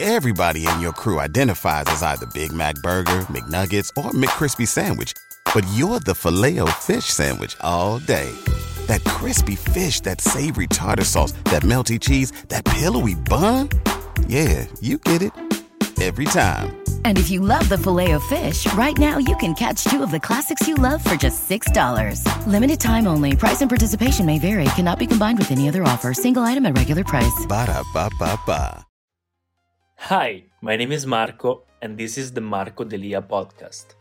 Everybody in your crew identifies as either Big Mac Burger, McNuggets, or McCrispy Sandwich. But you're the Filet-O-Fish Sandwich all day. That crispy fish, that savory tartar sauce, that melty cheese, that pillowy bun. Yeah, you get it. Every time. And if you love the Filet-O-Fish, right now you can catch two of the classics you love for just $6. Limited time only. Price and participation may vary. Cannot be combined with any other offer. Single item at regular price. Ba-da-ba-ba-ba. Hi, my name is Marco, and this is the Marco Delia podcast.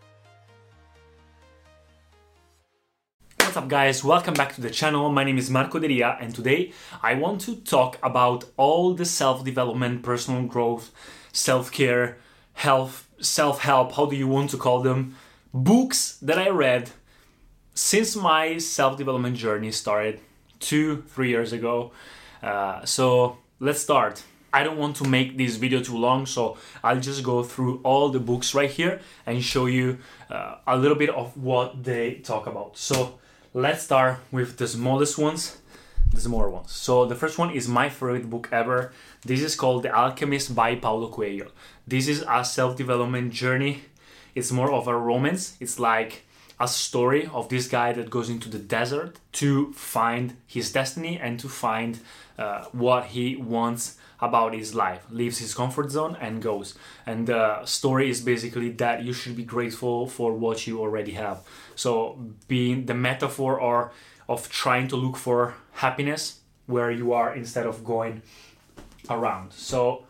What's up, guys? Welcome back to the channel. My name is Marco Delia, and today I want to talk about all the self-development, personal growth, self-care, health, self-help, how do you want to call them, books that I read since my self-development journey started 2-3 years ago. So let's start. I don't want to make this video too long, so I'll just go through all the books right here and show you a little bit of what they talk about. So let's start with the smallest ones, the smaller ones. So the first one is my favorite book ever. This is called The Alchemist by Paulo Coelho. This is a self-development journey. It's more of a romance. It's like a story of this guy that goes into the desert to find his destiny and to find what he wants about his life, leaves his comfort zone and goes. And the story is basically that you should be grateful for what you already have. So being the metaphor or of trying to look for happiness where you are instead of going around. So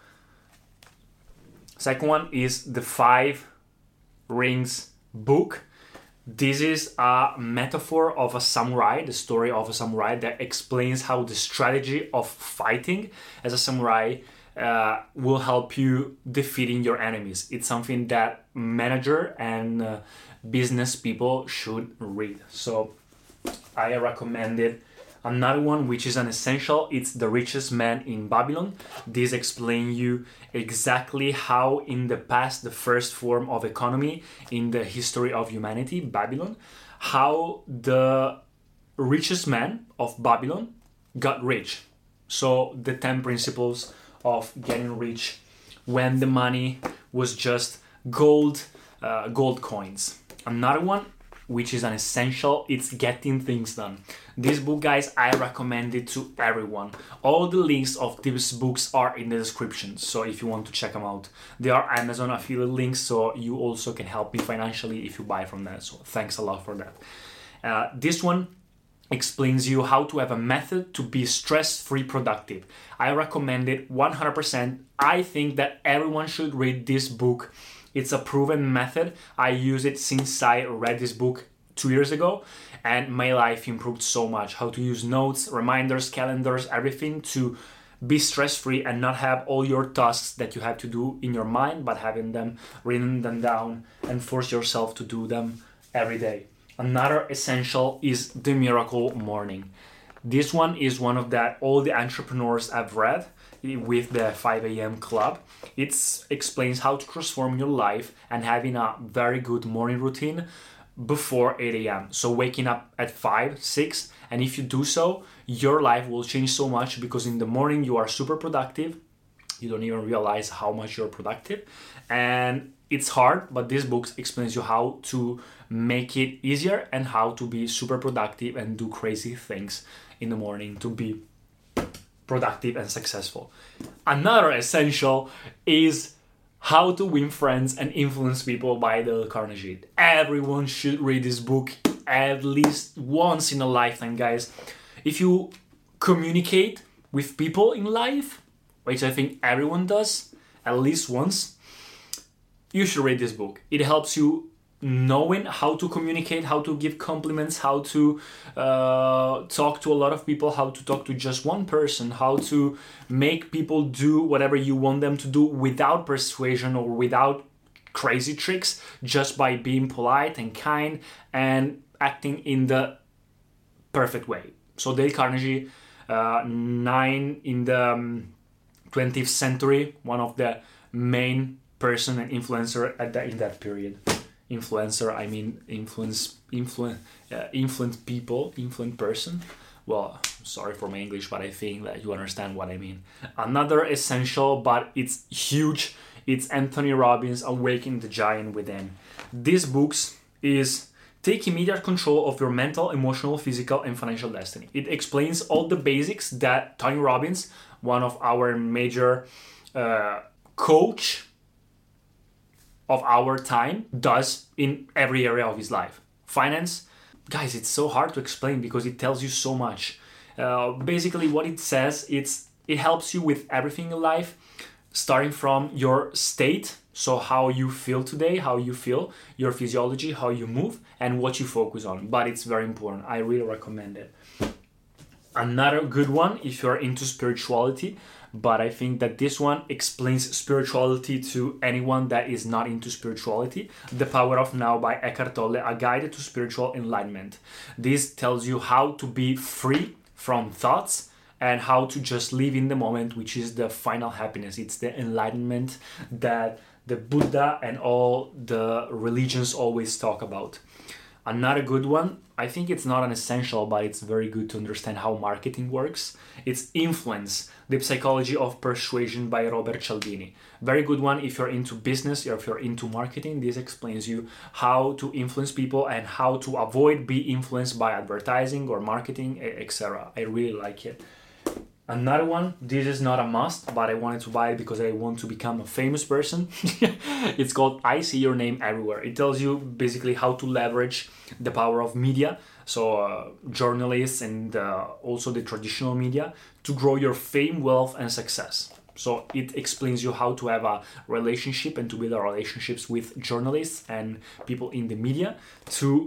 second one is the 5 Rings book. This is a metaphor of a samurai, the story of a samurai that explains how the strategy of fighting as a samurai will help you defeating your enemies. It's something that manager and business people should read. So I recommend it. Another one, which is an essential, it's The Richest Man in Babylon. This explains you exactly how in the past, the first form of economy in the history of humanity, Babylon, how the richest man of Babylon got rich. So the 10 principles of getting rich when the money was just gold coins. Another one, which is an essential, it's Getting Things Done. This book, guys, I recommend it to everyone. All the links of these books are in the description, so if you want to check them out. They are Amazon affiliate links, so you also can help me financially if you buy from them, so thanks a lot for that. This one explains you how to have a method to be stress-free productive. I recommend it 100%. I think that everyone should read this book. It's a proven method. I use it since I read this book 2 years ago, and my life improved so much. How to use notes, reminders, calendars, everything to be stress-free and not have all your tasks that you have to do in your mind, but having them written them down and force yourself to do them every day. Another essential is The Miracle Morning. This one is one of that all the entrepreneurs I've read with the 5 a.m. club. It explains how to transform your life and having a very good morning routine before 8 a.m. So waking up at 5, 6, and if you do so, your life will change so much because in the morning you are super productive. You don't even realize how much you're productive. And it's hard, but this book explains you how to make it easier and how to be super productive and do crazy things in the morning to be productive and successful. Another essential is How to Win Friends and Influence People by Dale Carnegie. Everyone should read this book at least once in a lifetime, guys. If you communicate with people in life, which I think everyone does at least once, you should read this book. It helps you knowing how to communicate, how to give compliments, how to talk to a lot of people, how to talk to just one person, how to make people do whatever you want them to do without persuasion or without crazy tricks, just by being polite and kind and acting in the perfect way. So Dale Carnegie, 9 in the 20th century, one of the main person and influencer in that period. Influencer, I mean influence people, influent person. Well, Sorry for my English, but I think that you understand what I mean. Another essential, but it's huge, it's Anthony Robbins' Awakening the Giant Within. This book is Take Immediate Control of Your Mental, Emotional, Physical, and Financial Destiny. It explains all the basics that Tony Robbins, one of our major coach of our time, does in every area of his life. Finance, guys, it's so hard to explain because it tells you so much. Basically what it says, it helps you with everything in life, starting from your state, so how you feel today, how you feel, your physiology, how you move, and what you focus on. But it's very important. I really recommend it. Another good one if you're into spirituality, but I think that this one explains spirituality to anyone that is not into spirituality. The Power of Now by Eckhart Tolle, a guide to spiritual enlightenment. This tells you how to be free from thoughts and how to just live in the moment, which is the final happiness. It's the enlightenment that the Buddha and all the religions always talk about. Another good one, I think it's not an essential, but it's very good to understand how marketing works. It's Influence, the Psychology of Persuasion by Robert Cialdini. Very good one if you're into business or if you're into marketing. This explains you how to influence people and how to avoid being influenced by advertising or marketing, etc. I really like it. Another one, this is not a must, but I wanted to buy it because I want to become a famous person. It's called I See Your Name Everywhere. It tells you basically how to leverage the power of media, so journalists and also the traditional media, to grow your fame, wealth, and success. So it explains you how to have a relationship and to build relationships with journalists and people in the media to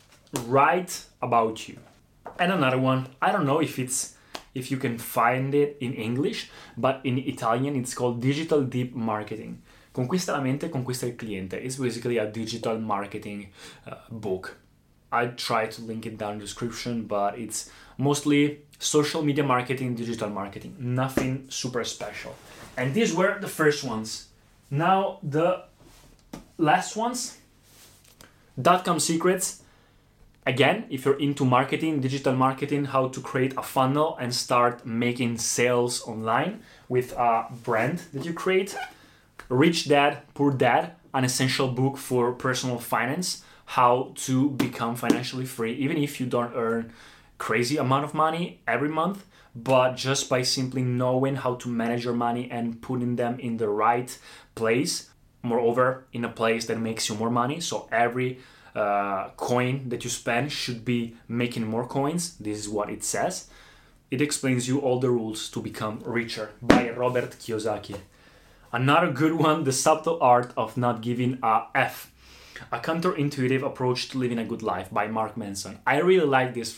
write about you. And another one, I don't know if you can find it in English, but in Italian it's called Digital Deep Marketing. Conquista la mente, conquista il cliente. It's basically a digital marketing book. I try to link it down in the description, but it's mostly social media marketing, digital marketing. Nothing super special. And these were the first ones. Now the last ones, .com Secrets. Again, if you're into marketing, digital marketing, how to create a funnel and start making sales online with a brand that you create. Rich Dad, Poor Dad, an essential book for personal finance, how to become financially free, even if you don't earn crazy amount of money every month, but just by simply knowing how to manage your money and putting them in the right place. Moreover, in a place that makes you more money. So every coin that you spend should be making more coins. This is what it says. It explains you all the rules to become richer by Robert Kiyosaki. Another good one, The Subtle Art of Not Giving a F, a counterintuitive approach to living a good life by Mark Manson. I really like this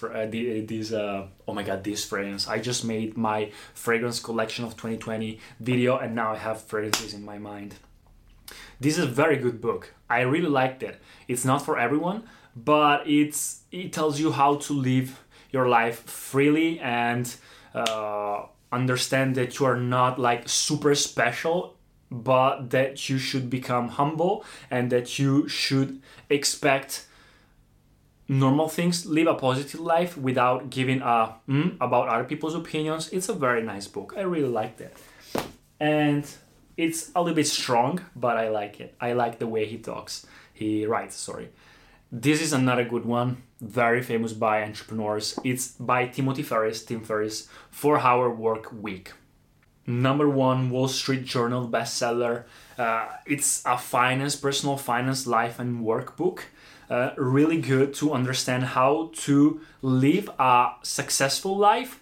fragrance. I just made my fragrance collection of 2020 video and now I have fragrances in my mind. This is a very good book. I really liked it. It's not for everyone, but it tells you how to live your life freely and understand that you are not like super special, but that you should become humble and that you should expect normal things, live a positive life without giving a about other people's opinions. It's a very nice book. I really liked it. And it's a little bit strong, but I like it. I like the way he writes. This is another good one, very famous by entrepreneurs. It's by Tim Ferriss, 4-Hour Work Week. Number 1 Wall Street Journal bestseller. It's a personal finance, life and work book. Really good to understand how to live a successful life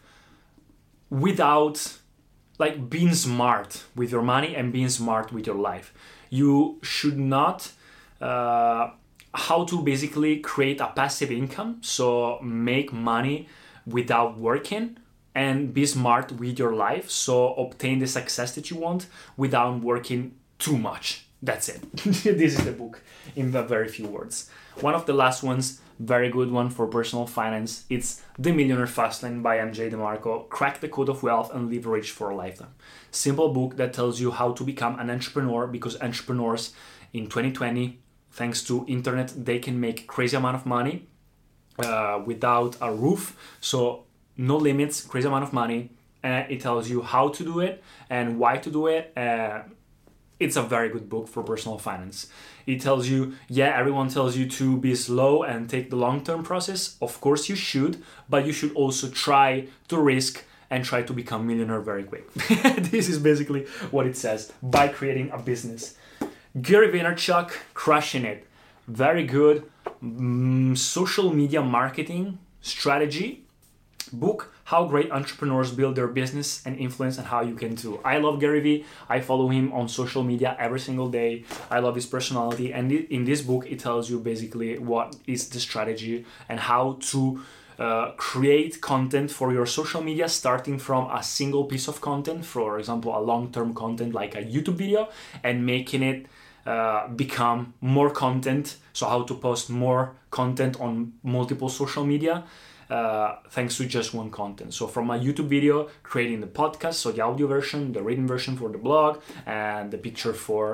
without being smart with your money and being smart with your life. You should not how to basically create a passive income, so make money without working and be smart with your life, so obtain the success that you want without working too much. That's it. This is the book in a very few words. One of the last ones, very good one for personal finance. It's The Millionaire Fastlane by MJ DeMarco. Crack the code of wealth and live rich for a lifetime. Simple book that tells you how to become an entrepreneur, because entrepreneurs in 2020, thanks to internet, they can make crazy amount of money without a roof. So no limits, crazy amount of money, and it tells you how to do it and why to do it. It's a very good book for personal finance. It tells you, everyone tells you to be slow and take the long-term process. Of course you should, but you should also try to risk and try to become millionaire very quick. This is basically what it says, by creating a business. Gary Vaynerchuk, crushing it. Very good social media marketing strategy book, how great entrepreneurs build their business and influence, and how you can too. I love Gary Vee. I follow him on social media every single day. I love his personality, and in this book it tells you basically what is the strategy and how to create content for your social media, starting from a single piece of content, for example a long-term content like a YouTube video, and making it become more content. So how to post more content on multiple social media thanks to just one content. So from a YouTube video, creating the podcast, so the audio version, the written version for the blog, and the picture for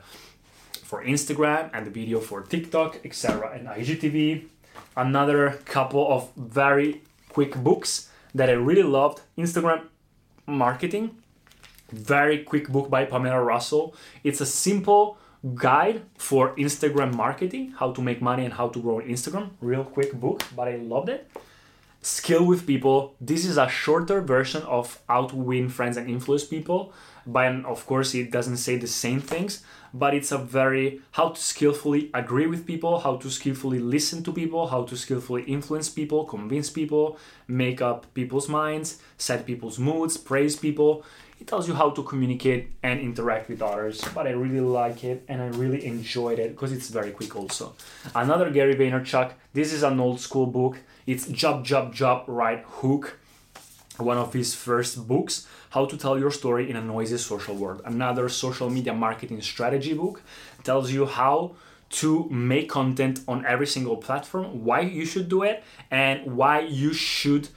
Instagram, and the video for TikTok, etc., and IGTV. Another couple of very quick books that I really loved: Instagram Marketing, very quick book by Pamela Russell. It's a simple guide for Instagram marketing, how to make money and how to grow on Instagram. Real quick book, but I loved it. Skill with People. This is a shorter version of how to win friends and influence people. But of course, it doesn't say the same things, but it's a very how to skillfully agree with people, how to skillfully listen to people, how to skillfully influence people, convince people, make up people's minds, set people's moods, praise people. It tells you how to communicate and interact with others, but I really like it and I really enjoyed it because it's very quick also. Another Gary Vaynerchuk, this is an old school book. It's Job, Job, Job, Right Hook, one of his first books, How to Tell Your Story in a Noisy Social World. Another social media marketing strategy book, tells you how to make content on every single platform, why you should do it, and why you should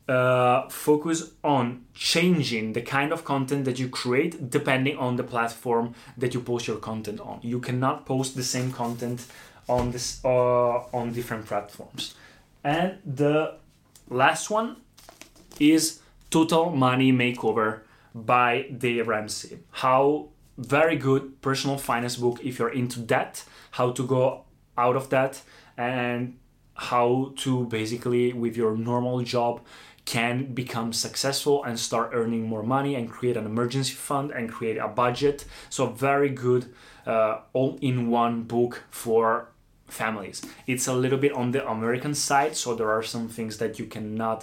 focus on changing the kind of content that you create depending on the platform that you post your content on. You cannot post the same content on different platforms. And the last one is Total Money Makeover by Dave Ramsey. How very good personal finance book if you're into debt, how to go out of debt, and how to basically with your normal job can become successful and start earning more money and create an emergency fund and create a budget. So very good all-in-one book for families. It's a little bit on the American side, so there are some things that you cannot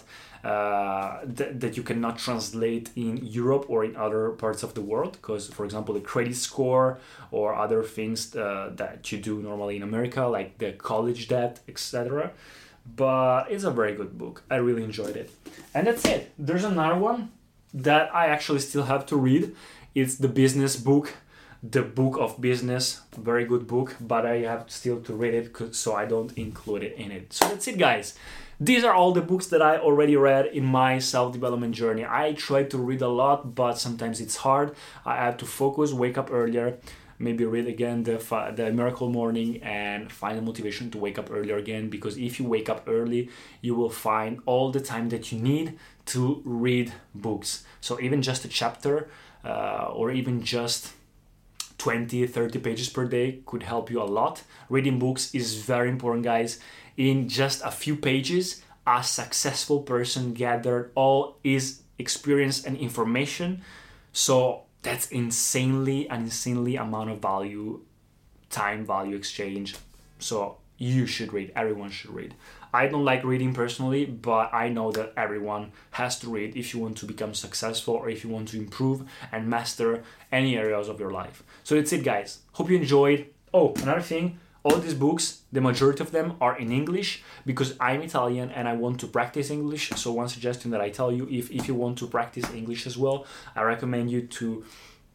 that you cannot translate in Europe or in other parts of the world, because for example the credit score or other things that you do normally in America, like the college debt, etc. But it's a very good book. I really enjoyed it. And that's it. There's another one that I actually still have to read. It's the business book, The Book of Business. Very good book, but I have still to read it, so I don't include it in it. So that's it, guys. These are all the books that I already read in my self-development journey. I try to read a lot, but sometimes it's hard. I have to focus, wake up earlier, maybe read again the Miracle Morning and find the motivation to wake up earlier again, because if you wake up early, you will find all the time that you need to read books. So even just a chapter or even just 20-30 pages per day could help you a lot. Reading books is very important, guys. In just a few pages, a successful person gathered all his experience and information. So that's an insanely amount of value, time value exchange. So you should read. Everyone should read. I don't like reading personally, but I know that everyone has to read if you want to become successful or if you want to improve and master any areas of your life. So that's it, guys. Hope you enjoyed. Oh, another thing. All these books, the majority of them are in English because I'm Italian and I want to practice English. So one suggestion that I tell you, if you want to practice English as well, I recommend you to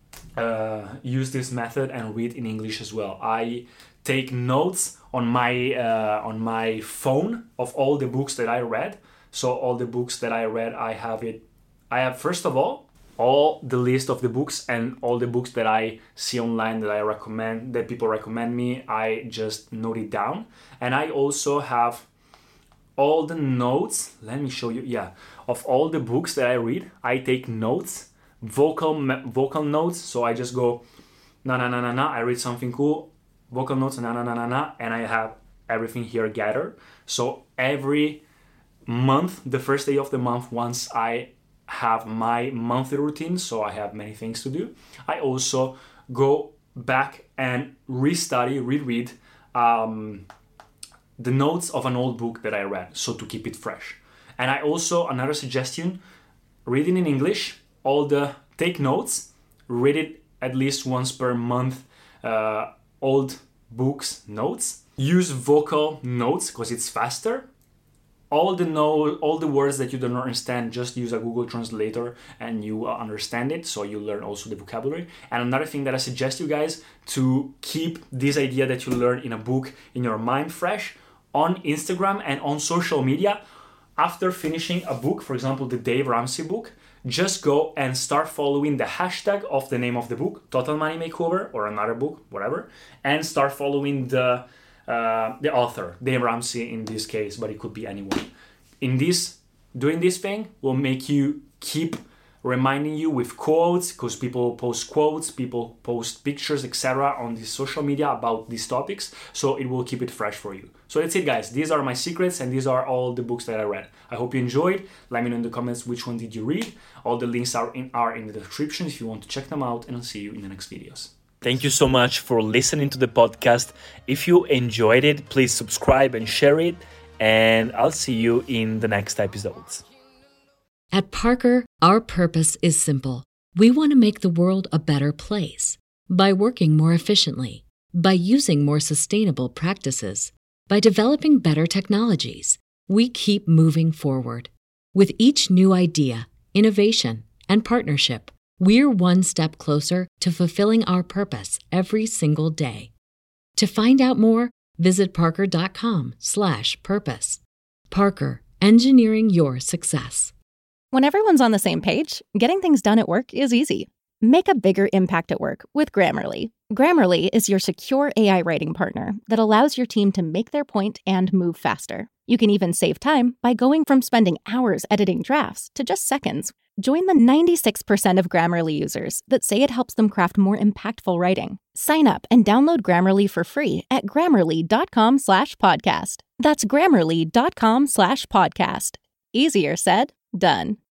use this method and read in English as well. I take notes on my phone of all the books that I read. So all the books that I read, I have first of all the list of the books and all the books that I see online that I recommend, that people recommend me, I just note it down. And I also have all the notes. Let me show you. Yeah, of all the books that I read, I take notes, vocal notes. So I just go na na na na na. I read something cool, vocal notes na na na na na, and I have everything here gathered. So every month, the first day of the month, once I have my monthly routine, so I have many things to do, I also go back and reread the notes of an old book that I read, so to keep it fresh. And I also, another suggestion, reading in English, take notes, read it at least once per month, old books notes. Use vocal notes because it's faster. All the words that you don't understand, just use a Google Translator and you understand it, so you learn also the vocabulary. And another thing that I suggest you guys to keep this idea that you learn in a book in your mind fresh, on Instagram and on social media. After finishing a book, for example, the Dave Ramsey book, just go and start following the hashtag of the name of the book, Total Money Makeover, or another book, whatever, and start following the author, Dave Ramsey in this case, but it could be anyone. Doing this thing will make you keep reminding you with quotes, because people post quotes, people post pictures, etc. on the social media about these topics, so it will keep it fresh for you. So that's it, guys. These are my secrets, and these are all the books that I read. I hope you enjoyed. Let me know in the comments which one did you read. All the links are in the description if you want to check them out, and I'll see you in the next videos. Thank you so much for listening to the podcast. If you enjoyed it, please subscribe and share it, and I'll see you in the next episodes. At Parker, our purpose is simple. We want to make the world a better place by working more efficiently, by using more sustainable practices, by developing better technologies. We keep moving forward. With each new idea, innovation, and partnership, we're one step closer to fulfilling our purpose every single day. To find out more, visit parker.com/purpose. Parker, engineering your success. When everyone's on the same page, getting things done at work is easy. Make a bigger impact at work with Grammarly. Grammarly is your secure AI writing partner that allows your team to make their point and move faster. You can even save time by going from spending hours editing drafts to just seconds. Join the 96% of Grammarly users that say it helps them craft more impactful writing. Sign up and download Grammarly for free at Grammarly.com/podcast. That's Grammarly.com/podcast. Easier said, done.